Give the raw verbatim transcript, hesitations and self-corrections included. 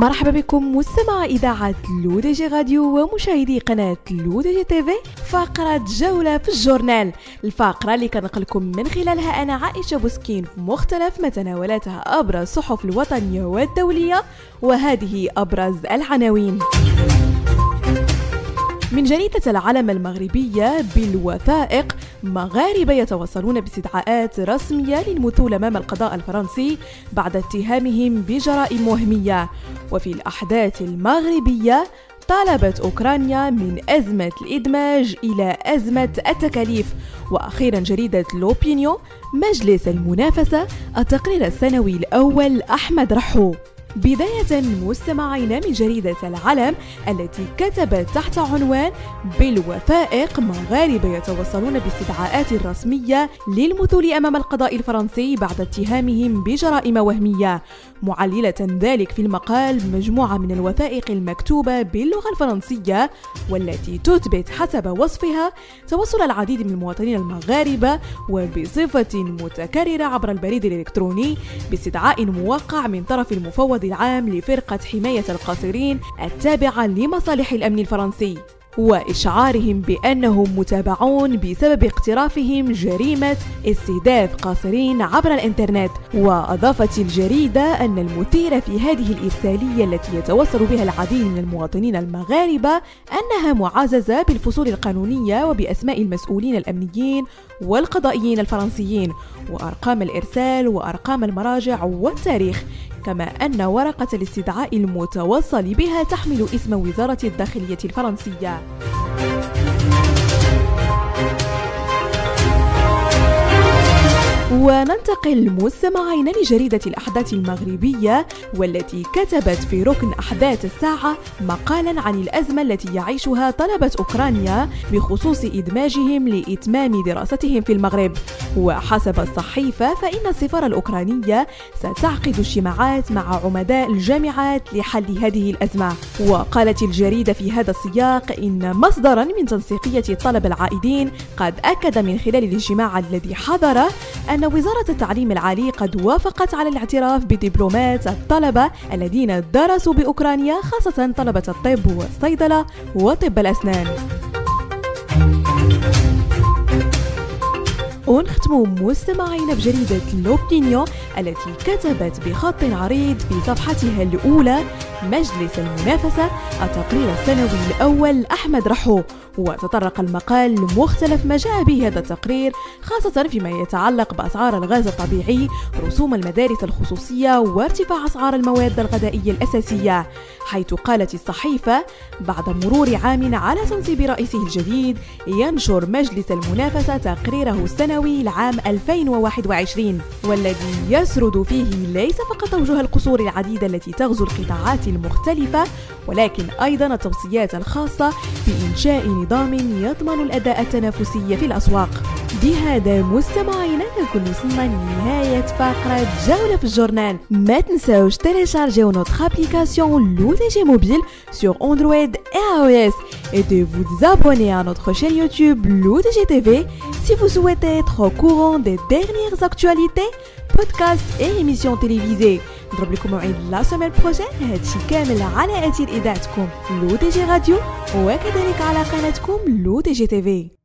مرحبا بكم مستمع إذاعة لو دي جي راديو ومشاهدي قناة لو دي جي تي في. فقرة جولة في الجورنال، الفقرة اللي كنقلكم من خلالها أنا عائشة بوسكين في مختلف ما تناولتها أبرز الصحف الوطنية والدولية، وهذه أبرز العناوين. من جريدة العلم المغربية: بالوثائق، مغاربة يتوصلون باستدعاءات رسمية للمثول أمام القضاء الفرنسي بعد اتهامهم بجرائم وهمية. وفي الأحداث المغربية: طالبت أوكرانيا من أزمة الإدماج إلى أزمة التكاليف. وأخيرا جريدة لوبينيون: مجلس المنافسة، التقرير السنوي الأول أحمد رحو. بداية مستمعين من جريدة العلم التي كتبت تحت عنوان: بالوثائق، مغاربة يتوصلون باستدعاءات رسمية للمثول أمام القضاء الفرنسي بعد اتهامهم بجرائم وهمية، معللة ذلك في المقال مجموعة من الوثائق المكتوبة باللغة الفرنسية والتي تثبت حسب وصفها توصل العديد من المواطنين المغاربة وبصفة متكررة عبر البريد الإلكتروني باستدعاء موقع من طرف المفوض العام لفرقة حماية القاصرين التابعة لمصالح الأمن الفرنسي، وإشعارهم بأنهم متابعون بسبب اقترافهم جريمة استهداف قاصرين عبر الإنترنت. وأضافت الجريدة أن المثير في هذه الإرسالية التي يتوصل بها العديد من المواطنين المغاربة أنها معززة بالفصول القانونية وبأسماء المسؤولين الأمنيين والقضائيين الفرنسيين وأرقام الإرسال وأرقام المراجع والتاريخ، كما أن ورقة الاستدعاء المتوصل بها تحمل اسم وزارة الداخلية الفرنسية. وننتقل مستمعين لجريدة الأحداث المغربية والتي كتبت في ركن أحداث الساعة مقالا عن الأزمة التي يعيشها طلبة أوكرانيا بخصوص إدماجهم لإتمام دراستهم في المغرب. وحسب الصحيفة فإن السفارة الأوكرانية ستعقد اجتماعات مع عمداء الجامعات لحل هذه الأزمة. وقالت الجريدة في هذا السياق إن مصدرا من تنسيقية الطلبة العائدين قد أكد من خلال الاجتماع الذي حضره أن وزارة التعليم العالي قد وافقت على الاعتراف بدبلومات الطلبة الذين درسوا بأوكرانيا، خاصة طلبة الطب والصيدلة وطب الأسنان. ونختم مستمعين بجريدة لوبينيون التي كتبت بخط عريض في صفحتها الأولى: مجلس المنافسة، التقرير السنوي الأول أحمد رحو. وتطرق المقال لمختلف ما جاء به هذا التقرير، خاصة فيما يتعلق بأسعار الغاز الطبيعي، رسوم المدارس الخصوصية، وارتفاع أسعار المواد الغذائية الأساسية، حيث قالت الصحيفة: بعد مرور عام على تنصيب رئيسه الجديد، ينشر مجلس المنافسة تقريره السنوي لعام ألفين وواحد وعشرين، والذي يسرد فيه ليس فقط أوجه القصور العديدة التي تغزو القطاعات المختلفة، ولكن أيضا التوصيات الخاصة بإنشاء نظام يضمن الأداء التنافسي في الأسواق. بهذا مستمعينا نكون وصلنا لنهاية فقرة جولة في الجورنال. ما تنساوش télécharger notre application لو دي جي Mobile sur Android et iOS et de vous abonner à notre chaîne YouTube لو دي جي تي في si vous souhaitez être au courant des dernières actualités, podcasts et émissions télévisées. نضرب لكم موعد لا سيمين بروجين، هادشي كامل على أثير إذاعتكم لو دي جي راديو وكذلك على قناتكم لو دي جي تي في.